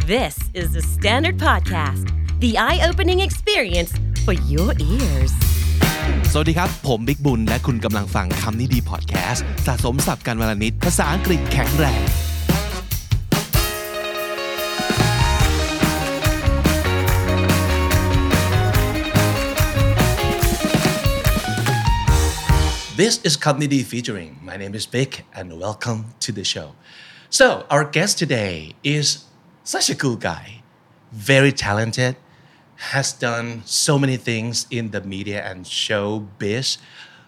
This is the Standard Podcast, the eye-opening experience for your ears. สวัสดีครับผมบิ๊กบุญและคุณกำลังฟังคำนี้ดีพอดแคสต์สะสมศัพท์กันวลนิดภาษาอังกฤษแข็งแรง This is Comedy Featuring. My name is Vic and welcome to the show. So, our guest today is such a cool guy, very talented, has done so many things in the media and showbiz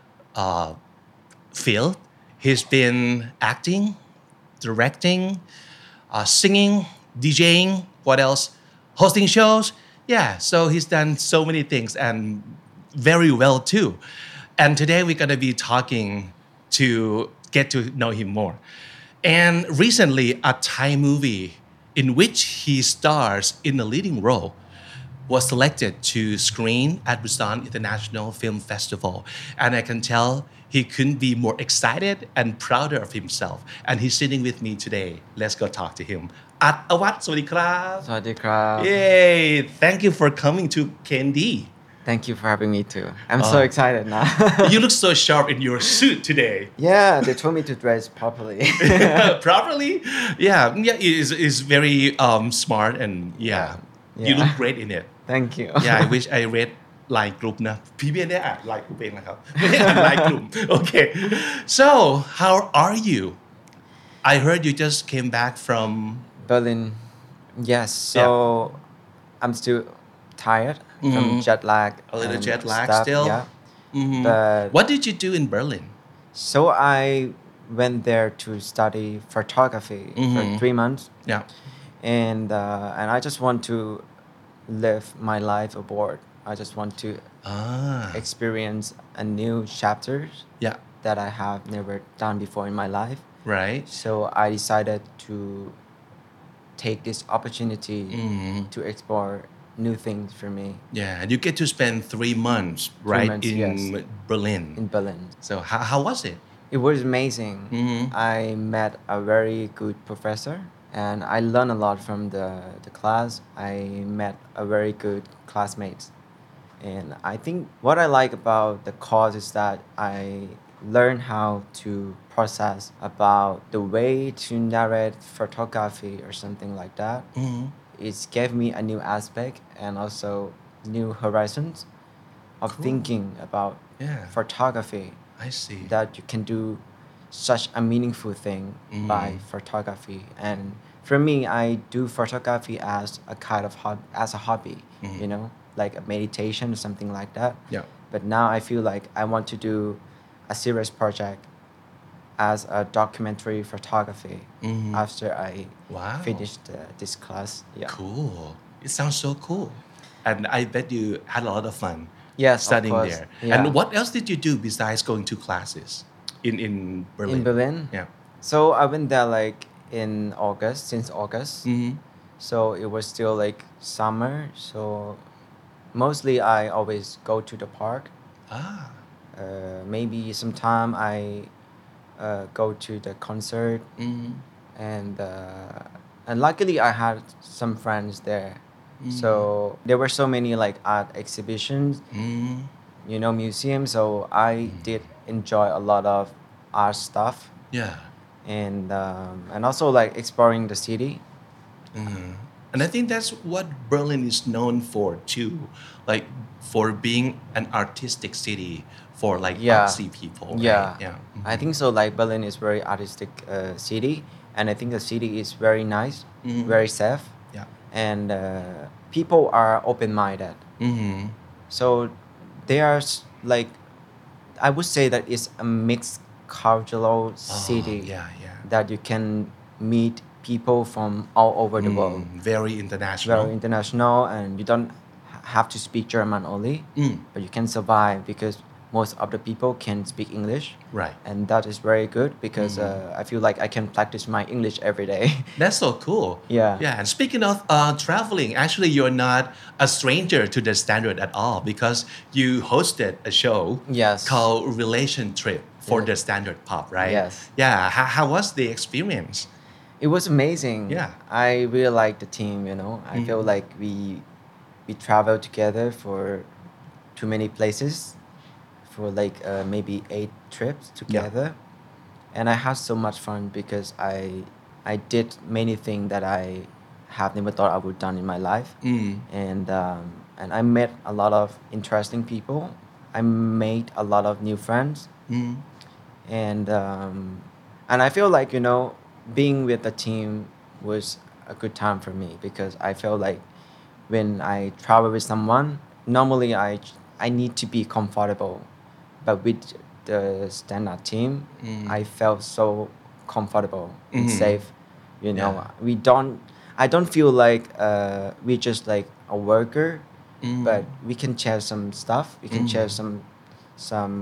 field. He's been acting, directing, singing, DJing, what else? Hosting shows. Yeah, so he's done so many things and very well too. And today we're going to be talking to get to know him more. And recently, a Thai movie in which he stars in a leading role was selected to screen at Busan International Film Festival. And I can tell he couldn't be more excited and prouder of himself. And he's sitting with me today. Let's go talk to him. อัดอวัฒน์สวัสดีครับสวัสดีครับ Yay! Thank you for coming to KND. Thank you for having me too. I'm so excited now. You look so sharp in your suit today. Yeah, they told me to dress properly. Properly? Yeah, is very smart and you Yeah. look great in it. Thank you. Yeah, I wish I read line group นะพี่ไม่ได้อ่าน line group เองนะครับไม่ได้อ่าน line group. Okay. So, how are you? I heard you just came back from Berlin. Yes. So I'm still tired from jet lag. a little and jet lag stuff, still. Yeah. Mhm. But What did you do in Berlin? so I went there to study photography for 3 months, Yeah. and I just want to live my life abroad. I just want to experience a new chapters Yeah. that I have never done before in my life. Right. So I decided to take this opportunity to explore new things for me Yeah, and you get to spend 3 months, right, months, in yes. Berlin. in Berlin. So how was it? It was amazing. I met a very good professor and I learned a lot from the class. I met a very good classmates. And I think what I like about the course is that I learned how to process about the way to narrate photography or something like that. It gave me a new aspect and also new horizons of thinking about Yeah. photography, I see. that you can do such a meaningful thing by photography. And for me, I do photography as a kind of as a hobby, you know, like a meditation or something like that. Yeah. But now I feel like I want to do a serious project as a documentary photography after I Wow. finished this class. Yeah. Cool. It sounds so cool. And I bet you had a lot of fun Yes, of studying course. there. Yeah. And what else did you do besides going to classes in Berlin? In Berlin? Yeah. So I went there like in August, since August. So it was still like summer. So mostly I always go to the park. Maybe sometime I go to the concert. And luckily I had some friends there. So there were so many like art exhibitions, you know, museums. So I did enjoy a lot of art stuff. Yeah. And also like exploring the city. And I think that's what Berlin is known for too, like for being an artistic city for like artsy people. Right? Yeah. I think so. Like Berlin is very artistic city, and I think the city is very nice, very safe, Yeah. and people are open-minded. So they are like, I would say that it's a mixed cultural city Yeah. that you can meet people from all over the world. Very international. Very international, and you don't have to speak German only, but you can survive because most of the people can speak English. Right. And that is very good because I feel like I can practice my English every day. That's so cool. Yeah. Yeah. And speaking of traveling, actually, you're not a stranger to the standard at all because you hosted a show Yes. called Relation Trip for Yeah. the Standard Pop, right? Yes. Yeah. How was the experience? It was amazing. Yeah. I really like the team, you know. I feel like we traveled together for too many places for like maybe 8 trips together. And I had so much fun because I did many things that I have never thought I would done in my life. And I met a lot of interesting people. I made a lot of new friends. And I feel like, you know, being with the team was a good time for me because I felt like when I travel with someone, normally I need to be comfortable, but with the standard team, I felt so comfortable and safe. You know, I don't feel like we're just like a worker, but we can share some stuff. We can share some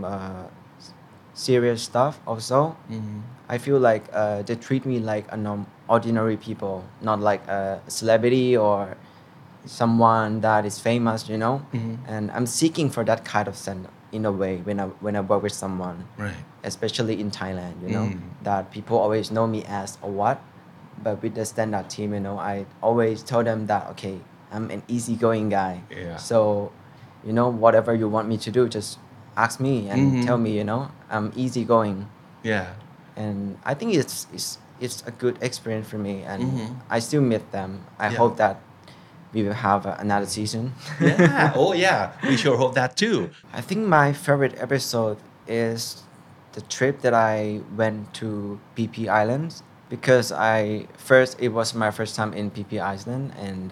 serious stuff also. I feel like they treat me like an ordinary people, not like a celebrity or someone that is famous, you know. And I'm seeking for that kind of sense in a way when I work with someone, Right. especially in Thailand, you know, that people always know me as a what, but with the standard team, you know, I always tell them that okay, I'm an easygoing guy. Yeah. So, you know, whatever you want me to do, just ask me and tell me, you know, I'm easygoing. Yeah. And I think it's a good experience for me, and I still miss them. I Yeah. hope that we will have another season. Yeah. Oh, yeah. We sure hope that too. I think my favorite episode is the trip that I went to PP Islands because it was my first time in PP Island, and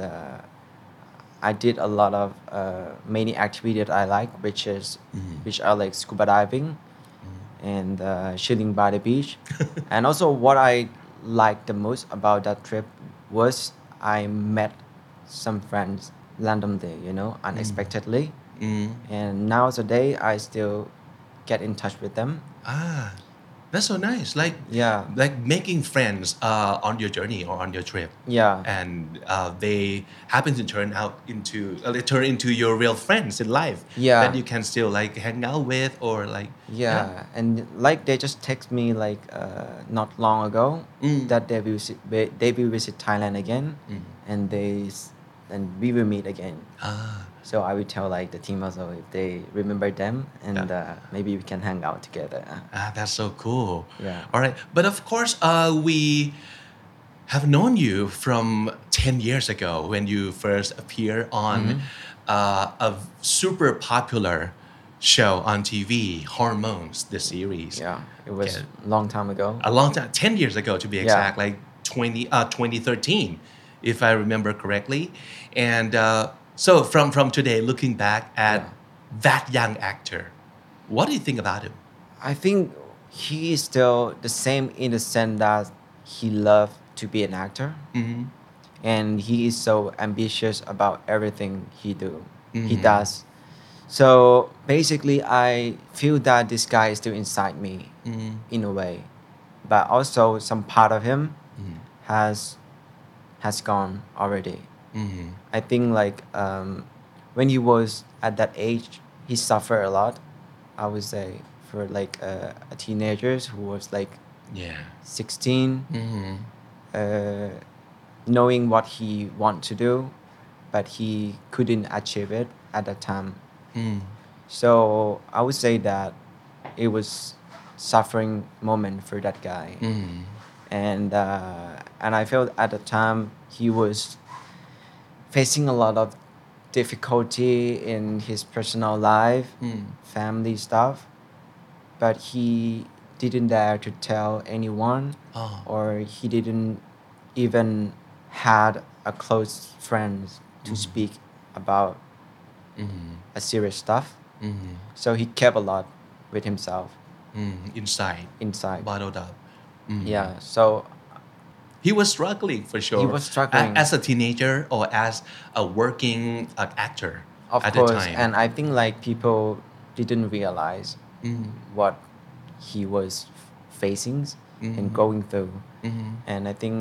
I did a lot of many activities that I like, which are like scuba diving and chilling by the beach. And also what I liked the most about that trip was I met some friends randomly, you know, unexpectedly. And nowadays I still get in touch with them. Ah, that's so nice. Yeah. Like making friends on your journey or on your trip. Yeah. And they happen to turn into your real friends in life. Yeah. That you can still like hang out with or like. Yeah, and like they just text me like not long ago that they will visit Thailand again, and we will meet again. So I will tell like the team also if they remember them, and maybe we can hang out together. That's so cool. Yeah. All right. But of course, we have known you from 10 years ago when you first appeared on a super popular show on TV, Hormones, the series. Yeah, it was a long time ago. A long time, 10 years ago to be exact, like 2013, if I remember correctly. And so from today, looking back at that young actor, what do you think about him? I think he is still the same in the sense that he loved to be an actor, and he is so ambitious about everything he does. So basically, I feel that this guy is still inside me in a way, but also some part of him has gone already. I think like when he was at that age, he suffered a lot. I would say for like a teenager who was like 16, knowing what he want to do, but he couldn't achieve it at that time. So I would say that it was suffering moment for that guy, and I felt at the time he was facing a lot of difficulty in his personal life, family stuff, but he didn't dare to tell anyone, or he didn't even had a close friend to speak about a serious stuff. So he kept a lot with himself Inside. Bottled up. Yeah, so He was struggling for sure. He was struggling. As a teenager or as a working actor of at course, the time. and I think like people didn't realize what he was facing and going through. And I think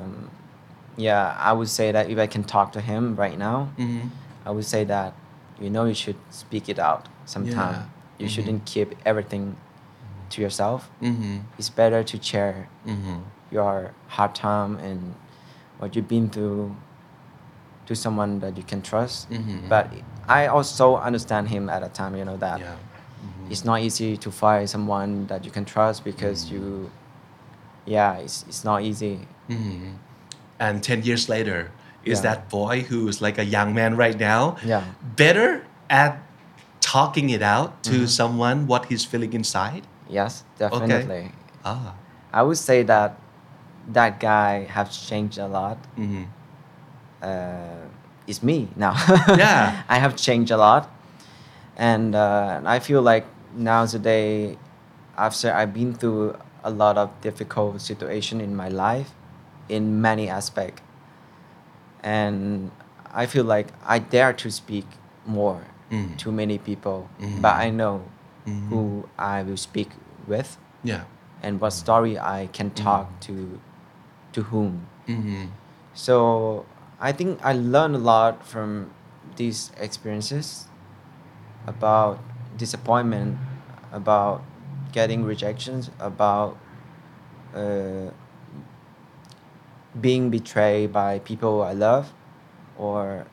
I would say that if I can talk to him right now, I would say that you should speak it out sometime. Yeah. You shouldn't keep everything to yourself. It's better to share your hard time and what you've been through to someone that you can trust. But I also understand him at a time, that Yeah. it's not easy to find someone that you can trust because it's not easy. And 10 years later, is Yeah. that boy who's like a young man right now Yeah. better at talking it out to someone what he's feeling inside? Yes, definitely. Ah. I would say that that guy has changed a lot. It's me now. Yeah. I have changed a lot, and I feel like nowadays, after I've been through a lot of difficult situation in my life, in many aspects, and I feel like I dare to speak more to many people, but I know who I will speak with Yeah. and what story I can talk to whom. So I think I learned a lot from these experiences about disappointment, about getting rejections, about uh, being betrayed by people I love, or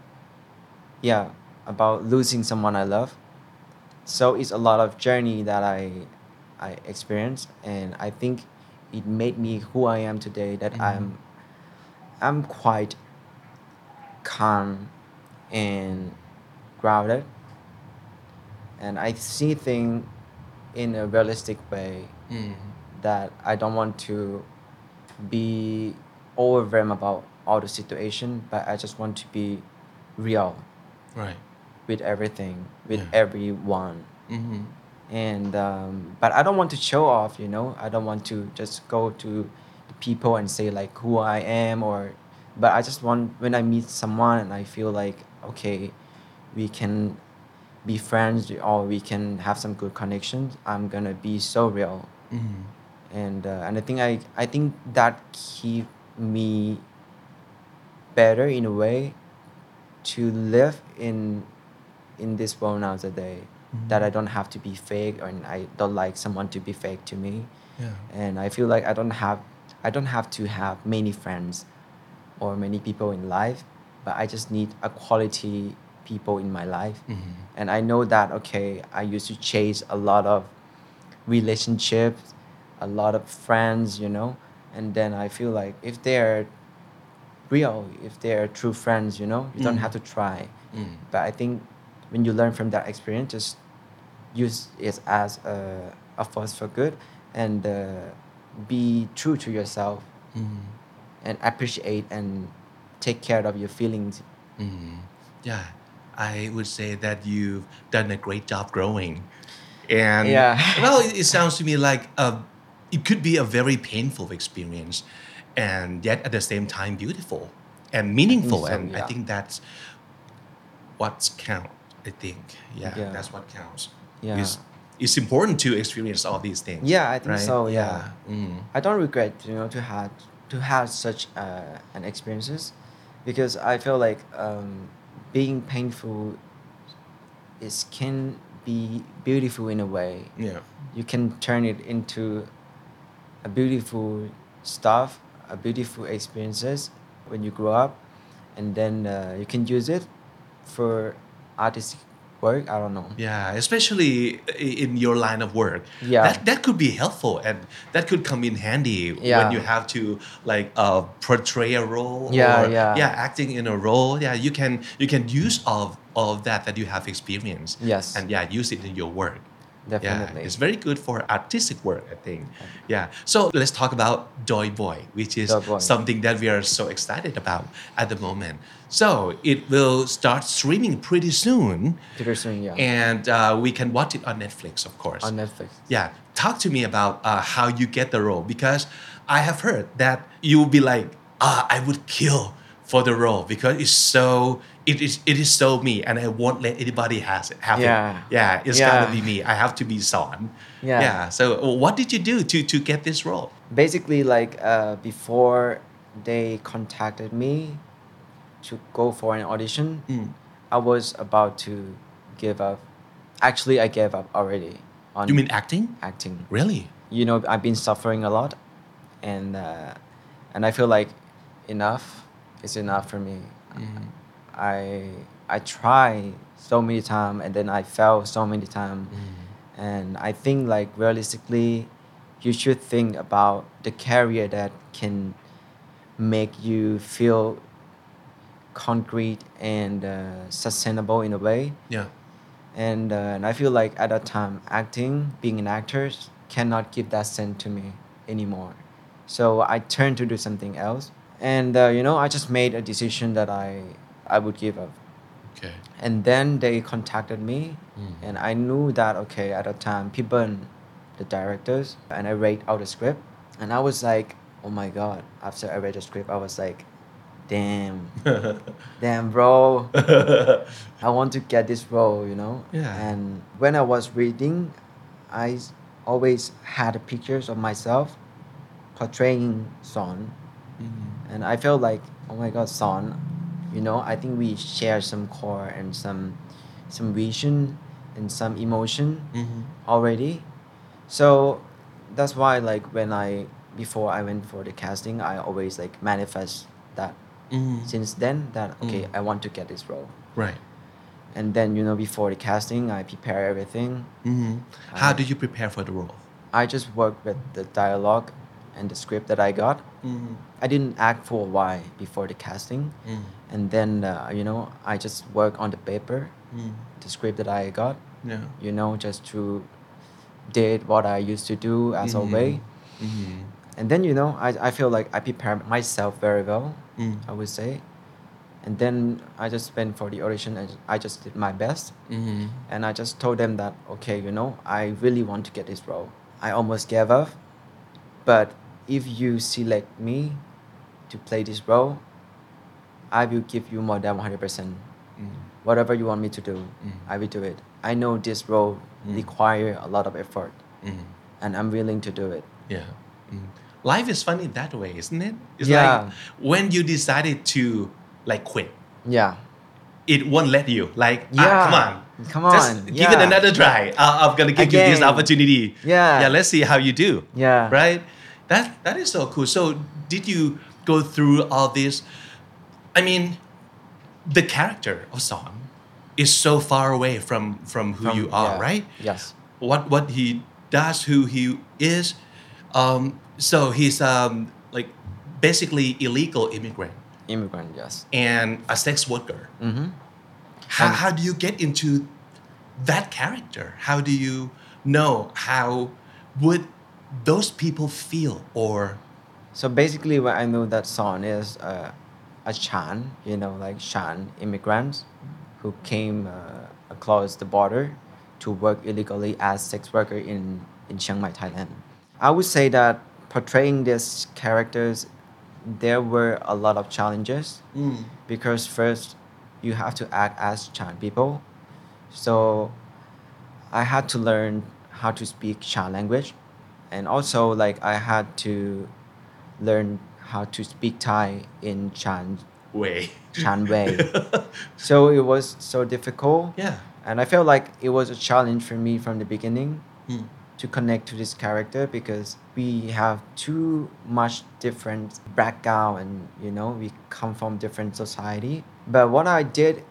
about losing someone I love. So it's a lot of journey that I experienced, and I think it made me who I am today. That I'm quite calm and grounded, and I see things in a realistic way. That I don't want to be overwhelmed about all the situation, but I just want to be real Right. with everything, with Yeah. everyone. And but I don't want to show off, I don't want to just go to the people and say like who I am, but I just want, when I meet someone and I feel like, okay, we can be friends or we can have some good connections, I'm gonna be so real. And I think that keep me better in a way to live in this world nowadays. That I don't have to be fake, and I don't like someone to be fake to me. Yeah. And I feel like I don't have to have many friends or many people in life, but I just need a quality people in my life. And I know that, okay, I used to chase a lot of relationships, a lot of friends, and then I feel like if they're real, if they're true friends, you don't have to try. But I think when you learn from that experience, just use it as a force for good, and be true to yourself, and appreciate and take care of your feelings. Yeah, I would say that you've done a great job growing. And Yeah. well, it sounds to me like it could be a very painful experience, and yet at the same time beautiful and meaningful. so, And I yeah. think that's what's count. I think, yeah, Yeah. that's what counts. Yeah. It's important to experience all these things. Yeah, I think right? so. Yeah. Mm. I don't regret, to have such an experiences, because I feel like being painful can be beautiful in a way. Yeah. You can turn it into a beautiful stuff, a beautiful experiences when you grow up, and then you can use it for artistic work. I don't know. Yeah, especially in your line of work. Yeah. That could be helpful, and that could come in handy Yeah. when you have to like portray a role Yeah, or yeah. acting in a role. Yeah, you can use all of that you have experienced. Yes. And use it in your work. Definitely. Yeah, it's very good for artistic work, I think. Yeah. So let's talk about Joy Boy, which is Joy Boy. something that we are so excited about at the moment. So it will start streaming pretty soon. Pretty soon, yeah. And we can watch it on Netflix, of course. On Netflix. Yeah. Talk to me about how you get the role, because I have heard that you'll be like, I would kill for the role because it is so me, and I won't let anybody have it. Yeah. Yeah, it's Yeah. gotta be me. I have to be Son. Yeah. Yeah. So what did you do to get this role? Basically, like before they contacted me to go for an audition, I was about to give up. Actually, I gave up already on You mean acting? acting. Really? I've been suffering a lot, and and I feel like enough is enough for me. I try so many times and then I fail so many times, and I think like realistically, you should think about the career that can make you feel concrete and sustainable in a way. Yeah. And I feel like at that time, acting, being an actor, cannot give that sense to me anymore. So I turned to do something else, and I just made a decision that I would give up. Okay. And then they contacted me, and I knew that okay at that time, people, the directors, and I read out the script, and I was like, oh my god! After I read the script, I was like, damn, damn, bro. I want to get this role. Yeah. And when I was reading, I always had pictures of myself portraying Son. And I felt like, oh my God, Son, I think we share some core and some vision and some emotion already. So that's why like before I went for the casting, I always like manifest that since then that okay, I want to get this role. Right. And then before the casting, I prepare everything. How do you prepare for the role? I just worked with the dialogue and the script that I got. I didn't act for a while before the casting, and then I just work on the paper, the script that I got. Yeah. Just to did what I used to do as always. And then I feel like I prepared myself very well. I would say. And then I just went for the audition and I just did my best. And I just told them that, okay, I really want to get this role. I almost gave up. But if you select me to play this role, I will give you more than 100%. Whatever you want me to do, I will do it. I know this role requires a lot of effort. And I'm willing to do it. Yeah. Life is funny that way, isn't it? It's Yeah. like when you decided to like quit, Yeah. it won't let you. Like, Yeah. Come on. Just give it Yeah. another try. I'm gonna give you this Again. opportunity. Yeah. Yeah, let's see how you do. Yeah. Right? That is so cool. So did you go through all this? I mean, the character of Son is so far away from who you are, Yeah. right? Yes. What he does, who he is. So he's like basically illegal immigrant Immigrant, yes. and a sex worker. Mm-hmm. How do you get into that character? How do you know how would those people feel or So basically, what I know that Son is a Chan, like Chan immigrants who came across the border to work illegally as sex worker in Chiang Mai, Thailand. I would say that portraying these characters, there were a lot of challenges because first you have to act as Chan people. So I had to learn how to speak Chan language, and also like I had to learn how to speak Thai in Chan way? way. So it was so difficult. Yeah. And I felt like it was a challenge for me from the beginning to connect to this character because we have too much different background and we come from different society. But what I did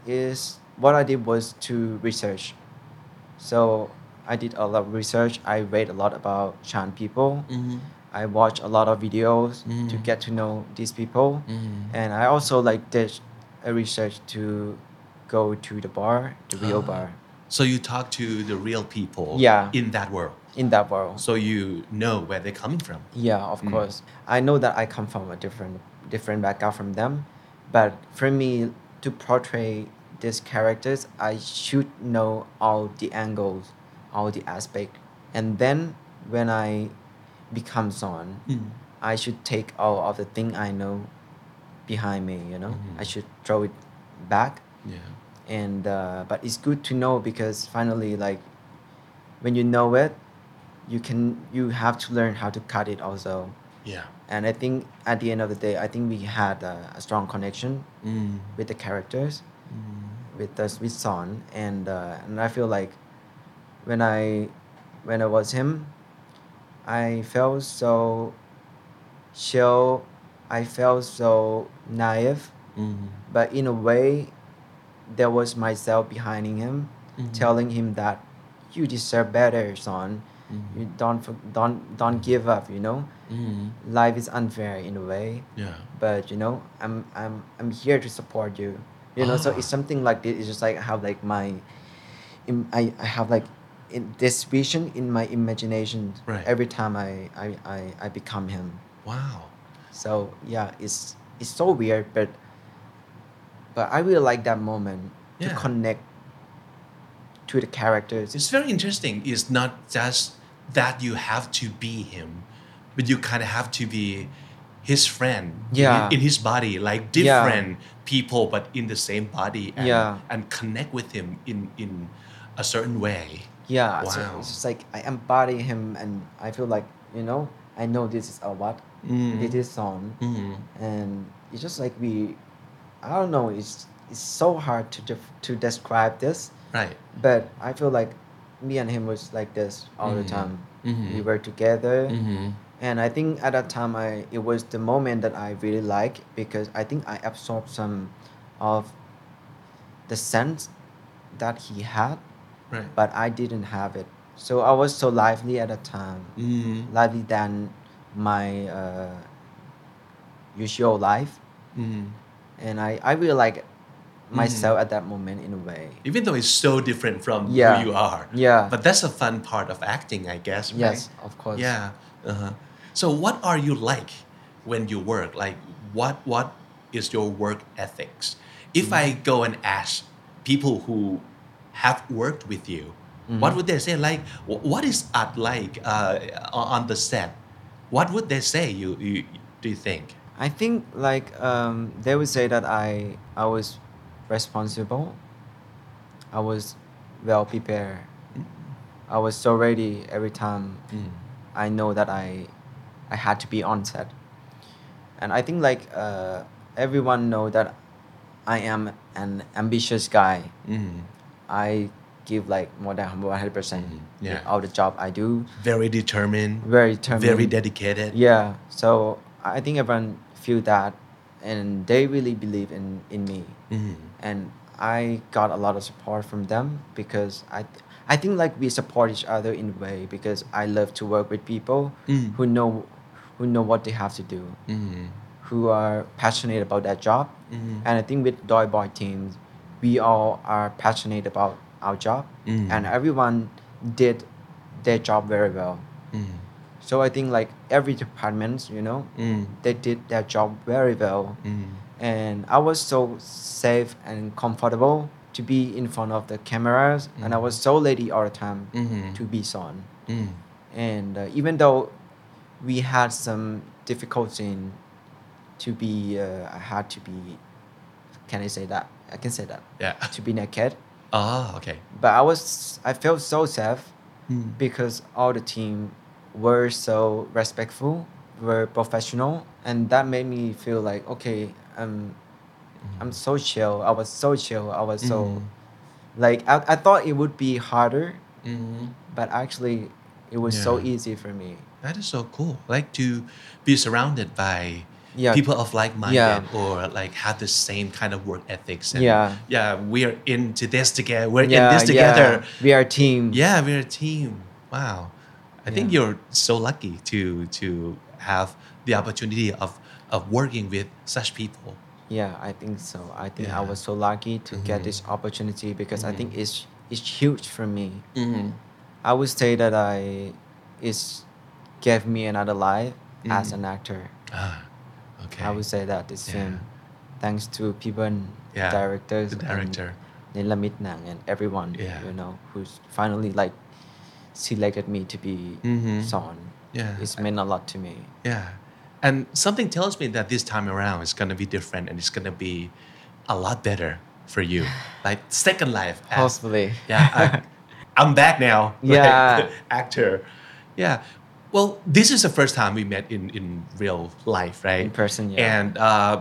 was to research. So I did a lot of research. I read a lot about Chan people. I watched a lot of videos to get to know these people. And I also like did a research to go to the bar, the real bar, So you talk to the real people Yeah. in that world. in that world. So you know where they're coming from. Yeah, of course. I know that I come from a different background from them, but for me to portray these characters, I should know all the angles, all the aspects, and then when I become Son, I should take all of the thing I know behind me. I should throw it back. Yeah. And but it's good to know because finally, like when you know it, you have to learn how to cut it also. Yeah. And I think at the end of the day, I think we had a strong connection with the characters, with Son, and I feel like when I was him, I felt so chill. I felt so naive, but in a way, there was myself behind him, telling him that you deserve better, son. You don't give up. Life is unfair in a way, Yeah. but I'm here to support you. So it's something like this. It's just like I have like I have like this vision in my imagination Right. every time I become him. Wow. So yeah, it's so weird, but I really like that moment to Yeah. connect to the characters. It's very interesting. It's not just that you have to be him, but you kind of have to be his friend Yeah. in his body, like Yeah. different people, but in the same body, and, Yeah. and connect with him in a certain way. Yeah, so Wow. it's just like I embody him, and I feel like I know this is a what, this is song, and it's just like I don't know, it's so hard to describe this, Right. but I feel like me and him was like this all the time. We were together, and I think at that time it was the moment that I really like, because I think I absorbed some of the sense that he had, Right. but I didn't have it. So I was so lively at that time, lively than my usual life, and I really like myself at that moment in a way. Even though it's so different from Yeah. who you are. Yeah. But that's a fun part of acting, I guess, right? Yes, of course. Yeah. Uh-huh. So what are you like when you work? Like what is your work ethics? If I go and ask people who have worked with you, what would they say? Like, what is art like on the set? What would they say? You do you think? I think like they would say that I was responsible. I was well prepared. I was so ready every time. I know that I had to be on set, and I think like everyone know that I am an ambitious guy. I give like more than 100% Yeah. in all the job I do. Very determined. Very determined. Very dedicated. Yeah. So I think everyone feel that, and they really believe in me. And I got a lot of support from them, because I think like we support each other in a way, because I love to work with people who know what they have to do, who are passionate about that job. And I think with Doi Boy teams, we all are passionate about our job, and everyone did their job very well. So I think like every department, they did their job very well. And I was so safe and comfortable to be in front of the cameras, and I was so ready all the time to be Son. And even though we had some difficulty to be, I had to be, can I say that? I can say that. Yeah. To be naked. Oh, okay. But I felt so safe because all the team were so respectful, were professional, and that made me feel like, okay, I'm so chill. I was so chill. I was so like I thought it would be harder, but actually it was so Yeah. easy for me. That is so cool. Like to be surrounded by Yeah. people of like-minded Yeah. or like have the same kind of work ethics. And Yeah. we're into this together. We're in Yeah, this together. yeah. We are a team. Yeah, we're a team. Wow. I think Yeah. you're so lucky to have the opportunity of working with such people. Yeah, I think so. I think I Yeah. was so lucky to get this opportunity, because I think it's huge for me. I would say that it's gave me another life as an actor. Ah, okay. I would say that this Yeah. film, thanks to people, Yeah, directors, the director. and Nilamit Nang, and everyone, Yeah. who's finally like selected me to be Son. Yeah. It's meant a lot to me. Yeah. And something tells me that this time around it's going to be different and it's going to be a lot better for you. Like second life. Hopefully. Yeah. I'm back now. Yeah. Like, actor. Yeah. Well, this is the first time we met in real life, right? In person, yeah. And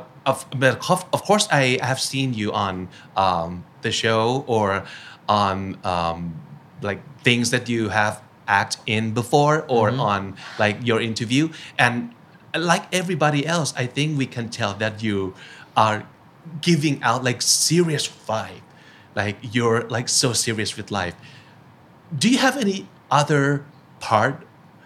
of course, I have seen you on the show or on like things that you have act in before or on like your interview. And like everybody else, I think we can tell that you are giving out like serious vibe, like you're like so serious with life. Do you have any other part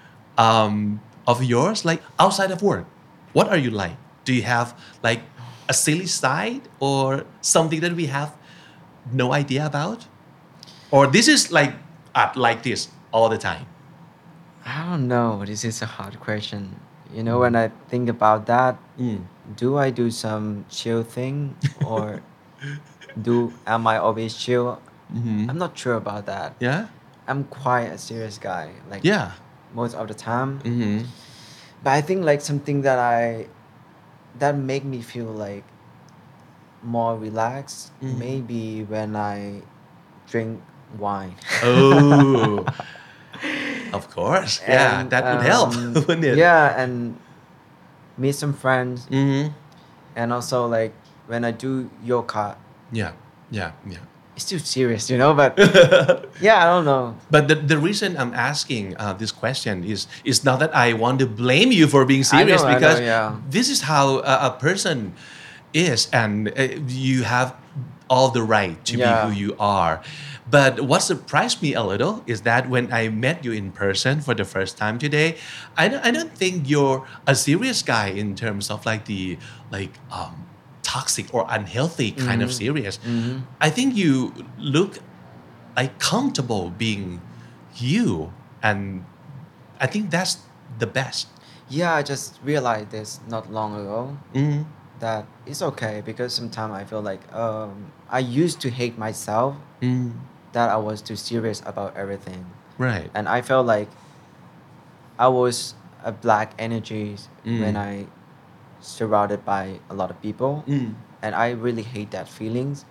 of yours, like outside of work? What are you like? Do you have like a silly side or something that we have no idea about? Or this is like this all the time? I don't know. This is a hard question. When I think about that, do I do some chill thing or am I always chill? I'm not sure about that. Yeah? I'm quite a serious guy, like Yeah. most of the time. But I think like something that make me feel like more relaxed, maybe when I drink wine. Oh, of course. Yeah, And, that would help, wouldn't it? Yeah, and meet some friends, Mm-hmm. and also like when I do yoga, Yeah, yeah, yeah. it's too serious, but yeah, I don't know. But the reason I'm asking this question is not that I want to blame you for being serious, I know, because yeah. this is how a person is, and you have all the right to Yeah. be who you are. But what surprised me a little is that when I met you in person for the first time today, I don't think you're a serious guy in terms of like the toxic or unhealthy kind of serious. I think you look like comfortable being you, and I think that's the best. Yeah, I just realized this not long ago that it's okay because sometimes I feel like I used to hate myself that I was too serious about everything. Right. And I felt like I was a black energy when I surrounded by a lot of people, and I really hate that feelings.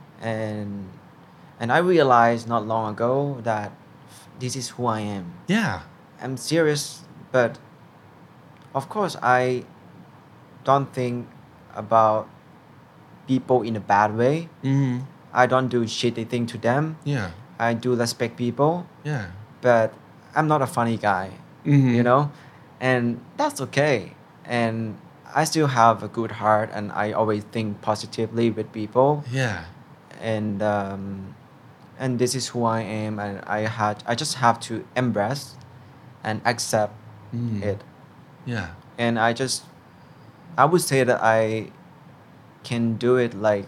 And I realized not long ago that this is who I am. Yeah. I'm serious, but of course I don't think about people in a bad way. I don't do shitty thing to them. Yeah. I do respect people, Yeah. but I'm not a funny guy, and that's okay. And I still have a good heart, and I always think positively with people, Yeah. and this is who I am, and I just have to embrace and accept it. Yeah. And I would say that I can do it like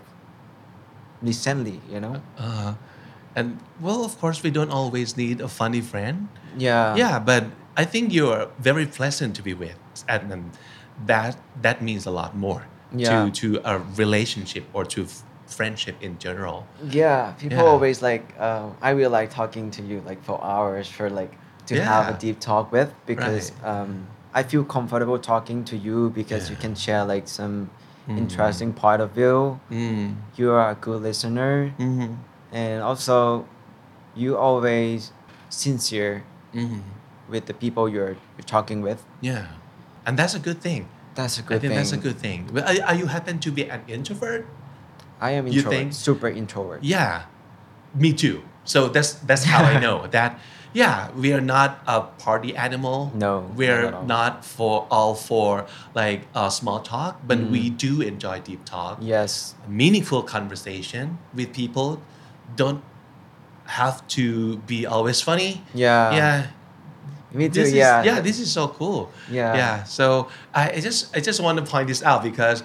recently. And well, of course, we don't always need a funny friend. Yeah. Yeah, but I think you're very pleasant to be with, and that means a lot more Yeah. to a relationship or to friendship in general. Yeah, people Yeah. always like. I really like talking to you like for hours for like to have a Yeah. deep talk with because Right. I feel comfortable talking to you because you Yeah. can share like some interesting point of view. You are a good listener, and also you always sincere with the people you're talking with. Yeah, and that's a good thing. That's a I good think thing. that's a good thing. But are you happen to be an introvert? I am You introvert, think? super introvert. Yeah, me too. So that's how I know that. Yeah, we are not a party animal. No, we're not at all. not for like small talk, but we do enjoy deep talk. Yes. Meaningful conversation with people. Don't have to be always funny. Yeah. Yeah. Me too. This Yeah. is this is so cool. Yeah. Yeah. So I just want to point this out because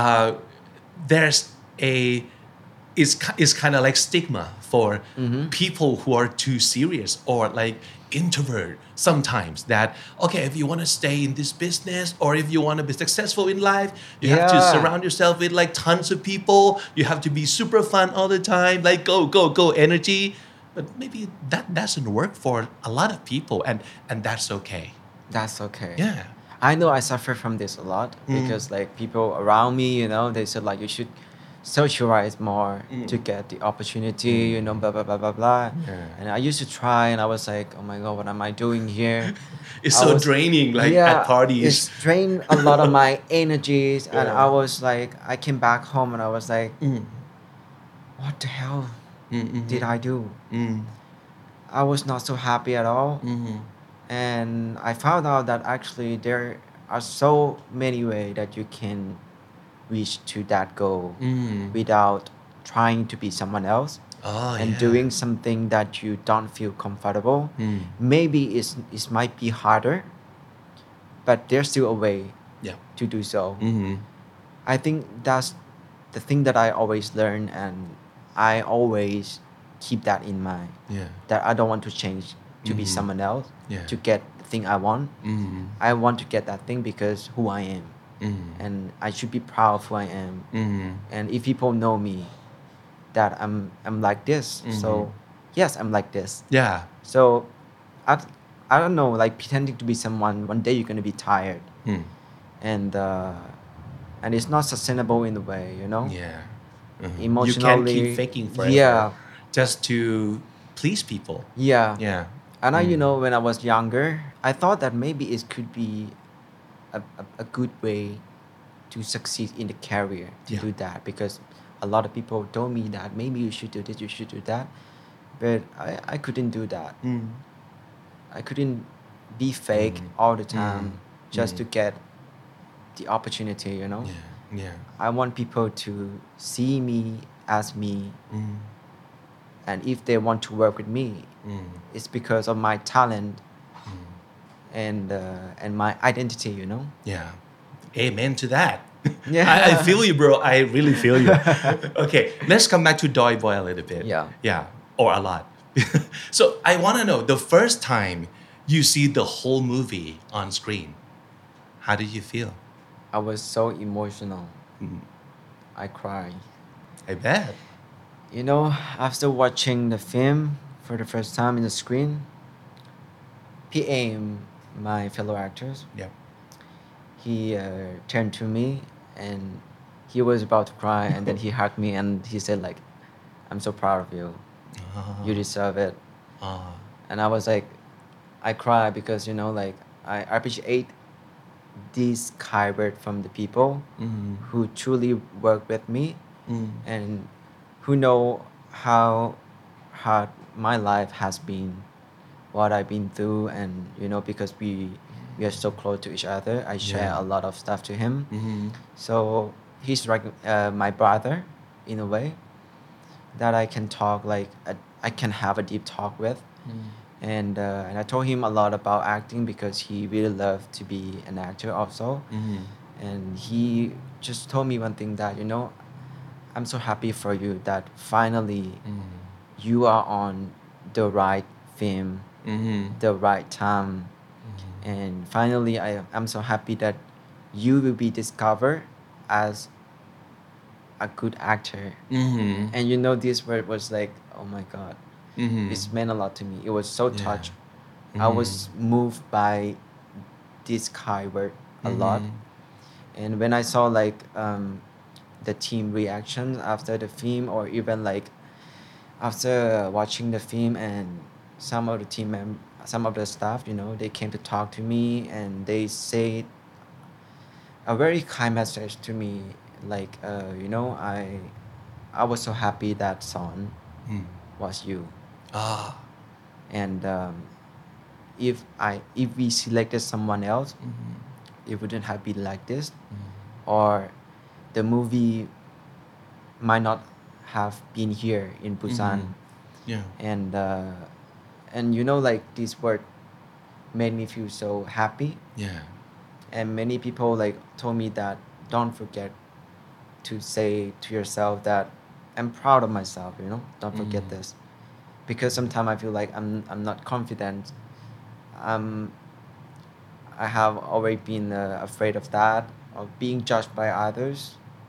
there's it's kind of like stigma for people who are too serious or like introvert sometimes, that okay, if you want to stay in this business or if you want to be successful in life, you have to Yeah. surround yourself with like tons of people. You have to be super fun all the time, like go energy. But maybe that doesn't work for a lot of people, and that's okay. That's okay. Yeah. I know I suffer from this a lot because like people around me, they said like you should socialize more to get the opportunity, blah blah blah blah blah. Yeah. And I used to try, and I was like, oh my god, what am I doing here? It's I so was- draining, like at parties. It's drained a lot of my energies, and Yeah. I was like, I came back home and I was like, what the hell did I do? I was not so happy at all. And I found out that actually there are so many ways that you can reach to that goal without trying to be someone else Oh, and yeah. doing something that you don't feel comfortable. Maybe it might be harder, but there's still a way Yeah. to do so. I think that's the thing that I always learn, and I always keep that in mind. Yeah. That I don't want to change to be someone else Yeah. to get the thing I want. I want to get that thing because who I am, and I should be proud of who I am. And if people know me, that I'm like this, so yes, I'm like this. Yeah. So I don't know, like pretending to be someone. One day you're gonna be tired, and it's not sustainable in a way, you know. Yeah. You Emotionally, can't keep faking forever yeah, just to please people. yeah. Yeah. And I, you know, when I was younger, I thought that maybe it could be a good way to succeed in the career to Yeah. do that, because a lot of people told me that maybe you should do this, you should do that, but I couldn't do that. I couldn't be fake all the time just to get the opportunity, you know. Yeah. Yeah. I want people to see me as me, and if they want to work with me, it's because of my talent and my identity, you know. Yeah. Amen to that. Yeah. I feel you, bro. I really feel you. Okay, let's come back to Doi Boy a little bit. Yeah. Yeah, or a lot. So I want to know the first time you see the whole movie on screen, how did you feel? I was so emotional. I cried. I bet. You know, after watching the film for the first time in the screen, PM, my fellow actors, Yep. he turned to me and he was about to cry, and then he hugged me and he said like, "I'm so proud of you. You deserve it." And I was like, I cry because, you know, like I appreciate this kind word from the people who truly work with me and who know how hard my life has been, what I've been through, and you know, because we are so close to each other, I share a lot of stuff to him. So he's like my brother in a way that I can talk like I can have a deep talk with. And I told him a lot about acting because he really loved to be an actor also. And he just told me one thing, that, you know, I'm so happy for you that finally you are on the right film, the right time. And finally I'm so happy that you will be discovered as a good actor. And you know, this word was like, oh my God. It's meant a lot to me. It was so touched. I was moved by this kind word a lot. And when I saw like the team reactions after the film, or even like after watching the film, and some of the some of the staff, you know, they came to talk to me and they said a very kind message to me, like you know, I was so happy that Son was you. And if we selected someone else, it wouldn't have been like this, or the movie might not have been here in Busan. Yeah. And you know, like this word made me feel so happy. Yeah. And many people like told me that don't forget to say to yourself that I'm proud of myself, you know, don't forget this. Because sometimes I feel like I'm not confident. I have always been afraid of that, of being judged by others.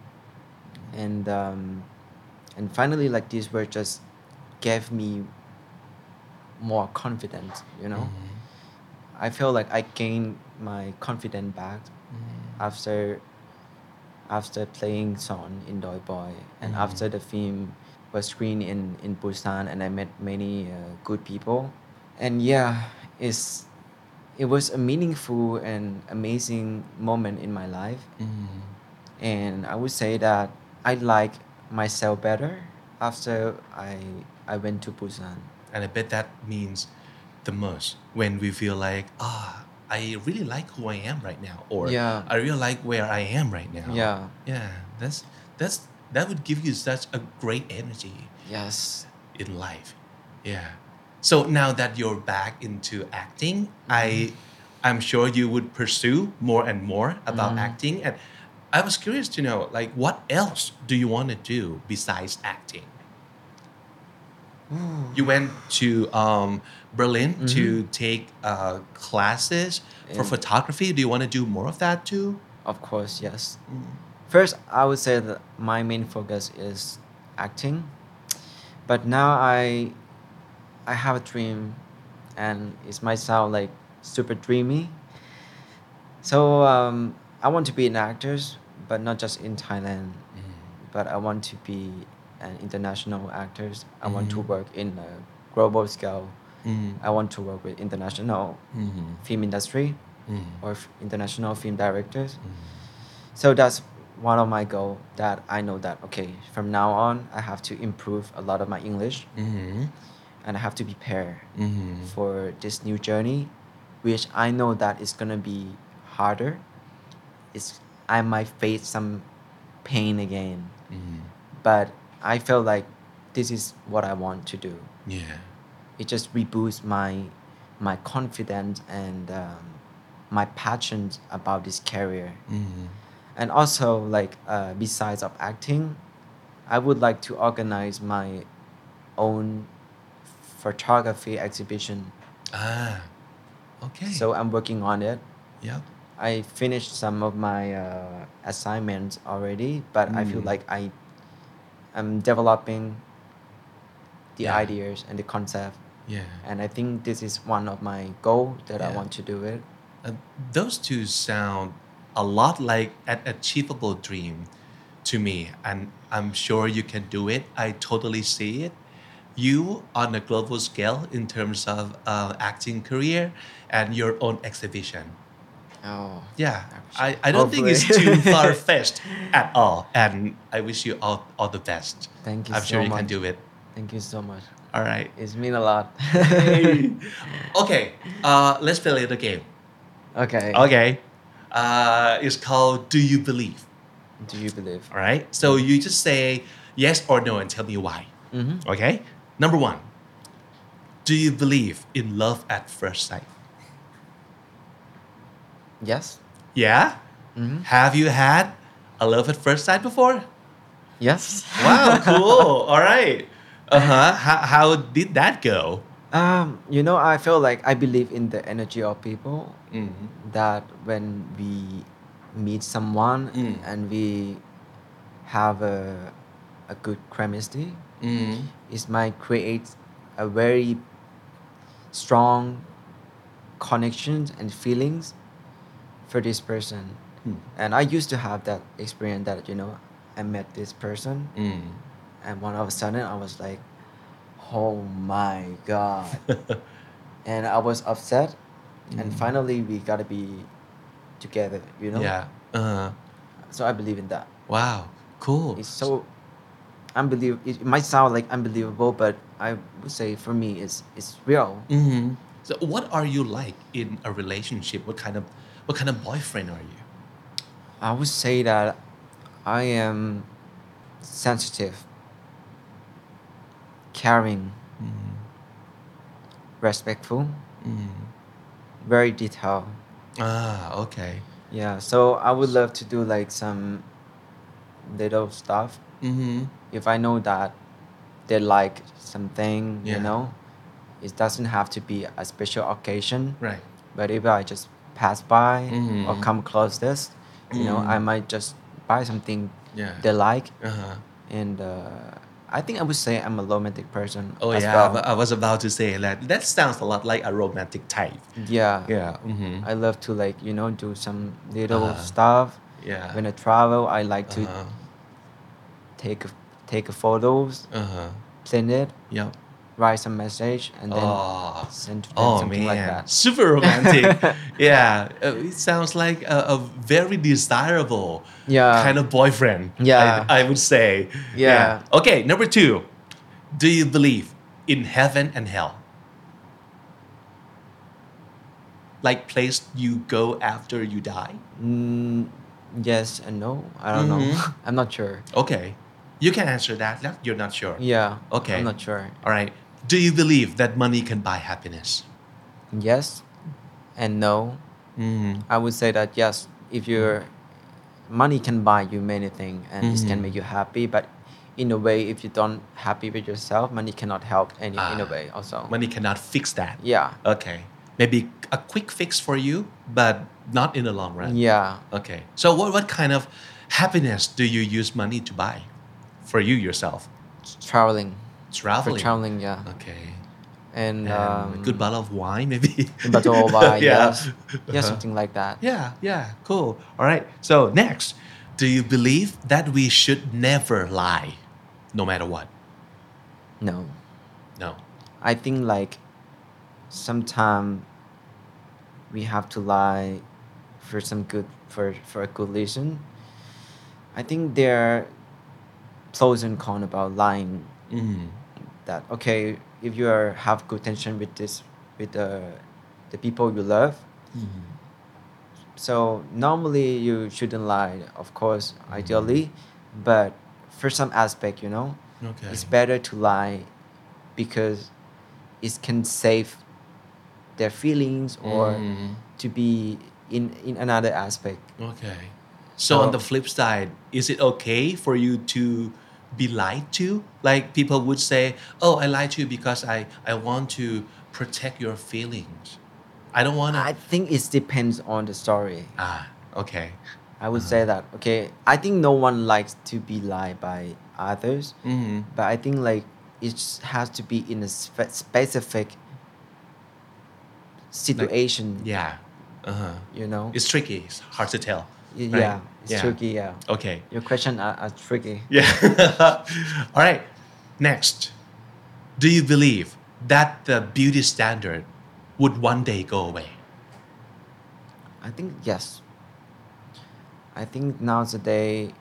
And finally, like this word just gave me more confidence, you know. I feel like I gained my confidence back after playing Son in Doi Boy, and after the film was screened in Busan, and I met many good people. And yeah, it was a meaningful and amazing moment in my life. And I would say that I like myself better after I went to Busan. And I bet that means the most when we feel like, I really like who I am right now, or Yeah. I really like where I am right now. Yeah. Yeah, that's that would give you such a great energy Yes. in life. Yeah. So now that you're back into acting, I'm sure you would pursue more and more about acting. And I was curious to know, like, what else do you want to do besides acting? You went to Berlin to take classes for And- photography. Do you want to do more of that too? Of course, yes. First, I would say that my main focus is acting, but now I have a dream, and it might sound like super dreamy. So I want to be an actor, but not just in Thailand. But I want to be an international actor. I want to work in a global scale. I want to work with international film industry or international film directors. So that's one of my goals that I know that, okay, from now on, I have to improve a lot of my English and I have to prepare for this new journey, which I know that it's going to be harder. I might face some pain again, but I feel like this is what I want to do. Yeah. It just reboosts my confidence and my passion about this career. And also, like besides of acting, I would like to organize my own photography exhibition. Ah. Okay. So I'm working on it. yeah. I finished some of my assignments already, but I feel like I'm developing the Yeah. ideas and the concept. Yeah. And I think this is one of my goals that I Yeah. want to do it. Those two sound a lot like an achievable dream to me, and I'm sure you can do it. I totally see it. You on a global scale in terms of acting career and your own exhibition. Oh. Yeah, I don't think it's Hopefully. too far fetched at all, and I wish you all the best. Thank you I'm so sure you can much. do it. Thank you so much. All right. It's mean a lot. Okay, let's play a little game. Okay. Okay, it's called Do You Believe? Do you believe? All right. So you just say yes or no and tell me why. Okay. Number one. Do you believe in love at first sight? Yes. Yeah. Have you had a love at first sight before? Yes. Wow. Cool. All right. How did that go? I feel like I believe in the energy of people. That when we meet someone and we have a good chemistry, it might create a very strong connections and feelings for this person. And I used to have that experience that I met this person and one of a sudden I was like, oh my god. And I was upset and finally we gotta be together. Yeah. So I believe in that. Wow. Cool. It's so unbelievable. It might sound like unbelievable, but I would say for me it's real. So what are you like in a relationship? What kind of boyfriend are you? I would say that I am sensitive, caring, respectful, very detailed. Ah, okay. Yeah, so I would love to do like some little stuff. If I know that they like something, Yeah. it doesn't have to be a special occasion. Right. But if I just pass by or come close this, I might just buy something Yeah. they like. Uh-huh. And I think I would say I'm a romantic person Oh as yeah, well. I was about to say that. That sounds a lot like a romantic type. Yeah. Yeah. I love to do some little Uh-huh. stuff. Yeah. When I travel, I like to take photos, send it, Yep. write some message, and then Oh. send to them Oh something man, like that. super romantic. Yeah, it sounds like a very desirable Yeah. kind of boyfriend. Yeah. I would say. Yeah. Okay, number two. Do you believe in heaven and hell? Like place you go after you die? Yes and no. I don't know. I'm not sure. Okay. You can answer that. You're not sure. Yeah. Okay. I'm not sure. All right. Do you believe that money can buy happiness? Yes and no. I would say that yes, if your money can buy you many things and it can make you happy, but in a way, if you don't happy with yourself, money cannot help in a way also. Money cannot fix that. Yeah. Okay. Maybe a quick fix for you, but not in the long run. Yeah. Okay. So what kind of happiness do you use money to buy for you yourself? Traveling. Traveling. For traveling, yeah. Okay. And A good bottle of wine, maybe. bottle of wine, Yeah. yes. Yeah, something like that. Yeah, cool. All right. So next, do you believe that we should never lie, no matter what? No. No. I think like sometimes we have to lie for some good for a good reason. I think there are pros and cons about lying. That okay, if you have good tension with the people you love, so normally you shouldn't lie, of course, ideally, but for some aspect, Okay. it's better to lie because it can save their feelings or to be in another aspect. Okay. So on the flip side, is it okay for you to be lied to? Like people would say, oh, I lied to you because I want to protect your feelings. I don't want to. I think it depends on the story. Okay. I would say that. Okay, I think no one likes to be lied by others, but I think like it has to be in a specific situation. Yeah. It's tricky. It's hard to tell. Yeah, right? it's tricky. Yeah. Okay. Your question are tricky. Yeah. All right. Next, do you believe that the beauty standard would one day go away? I think yes. I think nowadays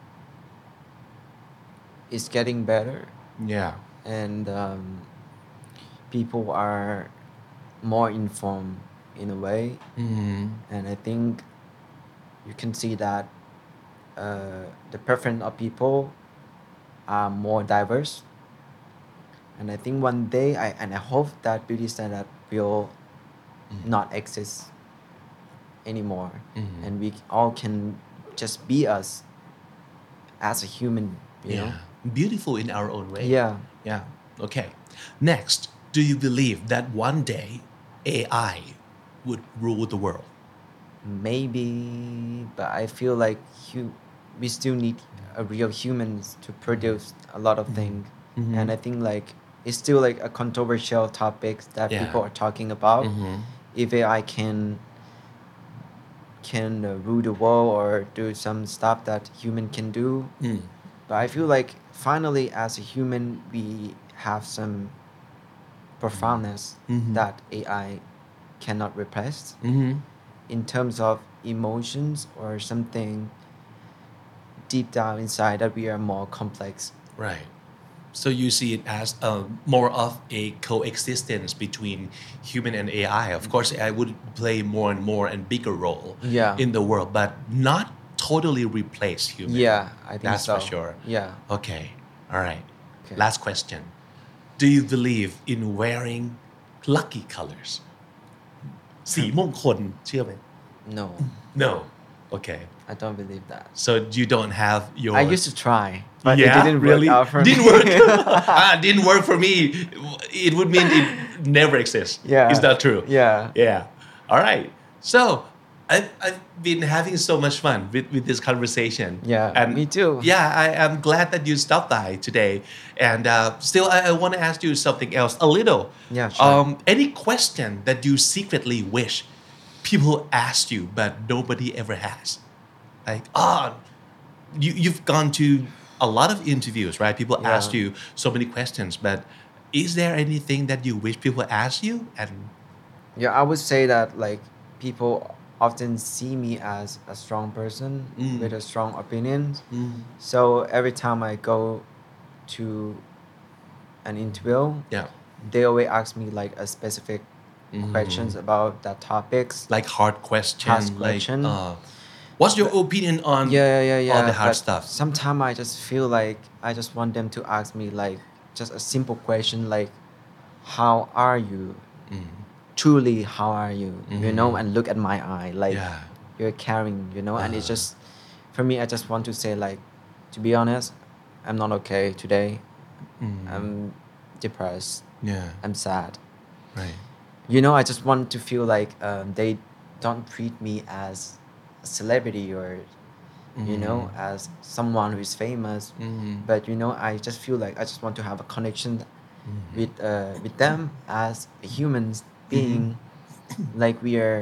it's getting better Yeah. and people are more informed in a way, and I think you can see that the preference of people are more diverse, and I think one day I hope that beauty standard will not exist anymore, and we all can just be us as a human, you know? Beautiful in our own way. Yeah. Yeah. Okay. Next, do you believe that one day AI would rule the world? Maybe, but I feel like we still need a real humans to produce a lot of things, and I think like it's still like a controversial topic that people are talking about. If AI can rule the world or do some stuff that human can do, but I feel like finally as a human we have some profoundness that AI cannot replace. In terms of emotions or something deep down inside that we are more complex. Right. So you see it as more of a coexistence between human and AI. Of course, AI would play more and more and bigger role in the world, but not totally replace human. Yeah, I think That's so. for sure. Yeah. Okay. All right. Okay. Last question. Do you believe in wearing lucky colors? สีมงคลเชื่อไหม No, No. Okay. I don't believe that. So you don't have your. I used to try, but it Yeah, didn't really? work out for Didn't me. work. Didn't work for me. It would mean it never exists. Yeah. Is that true? Yeah. Yeah. All right. So I've been having so much fun with this conversation. Yeah, And me too. Yeah, I am glad that you stopped by today. And still, I want to ask you something else a little. Yeah, sure. Any question that you secretly wish people asked you, but nobody ever has? Like, you've gone to a lot of interviews, right? People Yeah. ask you so many questions, but is there anything that you wish people asked you? And Yeah, I would say that like people often see me as a strong person with a strong opinion. So every time I go to an interview, yeah, they always ask me like a specific questions about that topics. Like hard question. Hard Like, question. what's your opinion on Yeah. all the hard But stuff? sometimes I just feel like I just want them to ask me like just a simple question like, how are you? Truly, how are you? You know, and look at my eye like Yeah. you're caring, you know, and it's just for me. I just want to say like, to be honest, I'm not okay today. I'm depressed. Yeah. I'm sad. Right. You know, I just want to feel like they don't treat me as a celebrity or you know as someone who is famous. But you know, I just feel like I just want to have a connection with them as a human being, like we are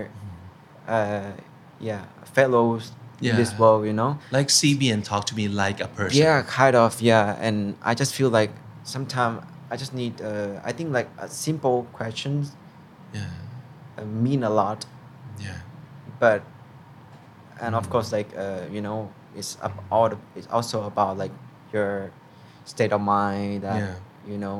fellows in this Yeah. world, you know. Like see me and talk to me like a person. Yeah, kind of. Yeah, and I just feel like sometimes I just need. I think like simple questions Yeah. mean a lot, Yeah. but and of course like you know it's also about like your state of mind that Yeah. you know,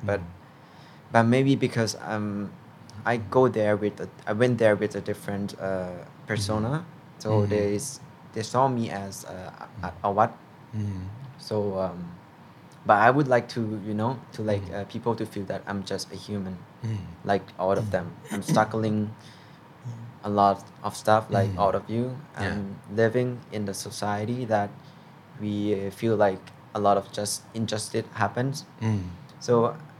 but maybe because I went there with a different persona, so they saw me as a what. So but I would like to you know to like people to feel that I'm just a human like all of them. I'm struggling a lot of stuff like all of you. I'm living in the society that we feel like a lot of just injustice happens. So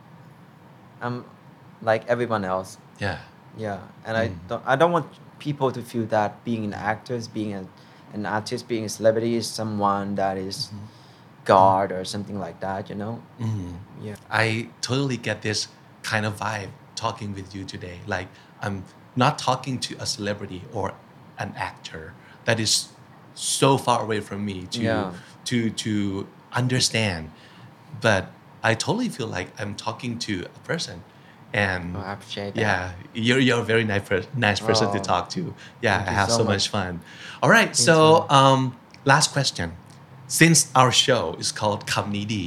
I'm like everyone else. Yeah. And I don't want people to feel that being an actor, being an artist, being a celebrity is someone that is God or something like that, you know. Yeah. I totally get this kind of vibe talking with you today. Like I'm not talking to a celebrity or an actor that is so far away from me to understand, but I totally feel like I'm talking to a person. And I appreciate that. yeah, you're a very nice person to talk to. Yeah, Thank I you have so so much. much fun. All right, so last question. Since our show is called Kamni Di,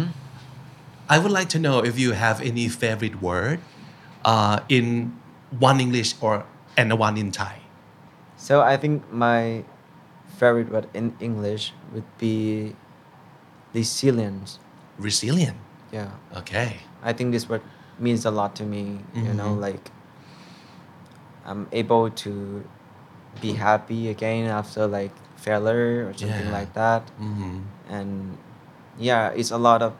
I would like to know if you have any favorite word in one English and one in Thai. So I think my favorite word in English would be resilience. Resilient. Yeah. Okay. I think this word means a lot to me, you know, like I'm able to be happy again after like failure or something like that. And yeah, it's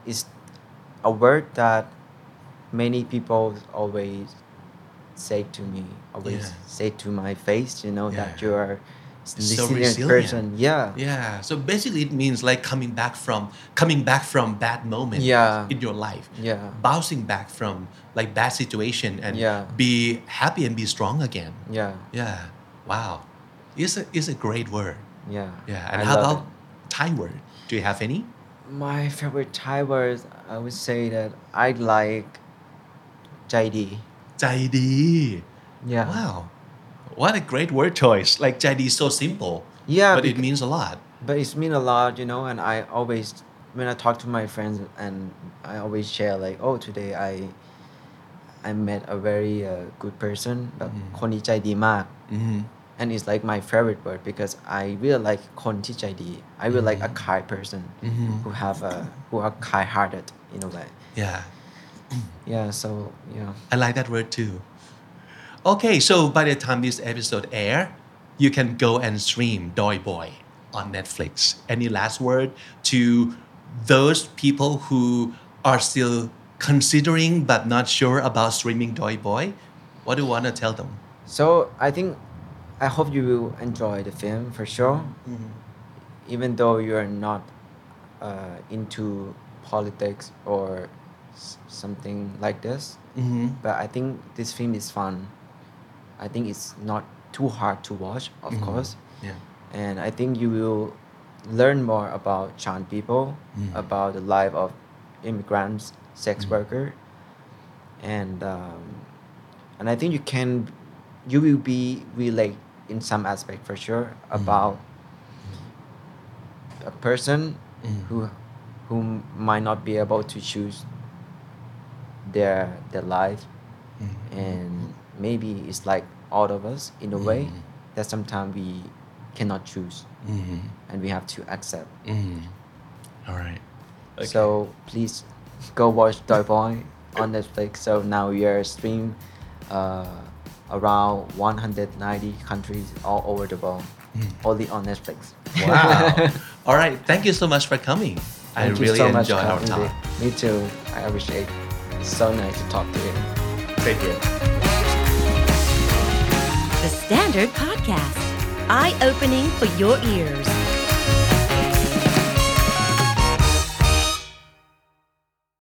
a word that many people always say to me, always say to my face, you know, that Yeah. you are So resilient resilient. person. Yeah. So basically, it means like coming back from bad moments Yeah. in your life. Yeah. Bouncing back from like bad situation and Yeah. be happy and be strong again. Yeah. Yeah. Wow. It's a great word. Yeah. Yeah. And I how love about it. Thai word? Do you have any? My favorite Thai words, I would say that I like Jai Di. ใจดี Yeah. Wow. What a great word choice. Like ใจดี is so simple. Yeah, But it means a lot. But it's mean a lot, you know, and I always when I talk to my friends and I always share like, oh, today I met a very good person, แบบคนนี้ใจดีมาก and it's like my favorite word because I really like คนที่ใจดี I really like a kind person who are kind-hearted in a way. Yeah. Yeah, so yeah. I like that word too. Okay, so by the time this episode air, you can go and stream Doi Boy on Netflix. Any last word to those people who are still considering but not sure about streaming Doi Boy? What do you want to tell them? So I hope you will enjoy the film for sure. Even though you are not into politics or something like this, but I think this film is fun. I think it's not too hard to watch, of course. Yeah. And I think you will learn more about Chan people, about the life of immigrants, sex worker, and I think you will be relate in some aspect for sure about a person who might not be able to choose their life, and maybe it's like all of us in a way that sometimes we cannot choose and we have to accept. All right. Okay. So please go watch Toy Boy on Netflix. So now we are streamed around 190 countries all over the world, only on Netflix. Wow. All right. Thank you so much for coming. I Thank you really so much, enjoyed our Kevin. talk. Me too. I appreciate it. It's so nice to talk to you. Thank you. The Standard Podcast, eye-opening for your ears.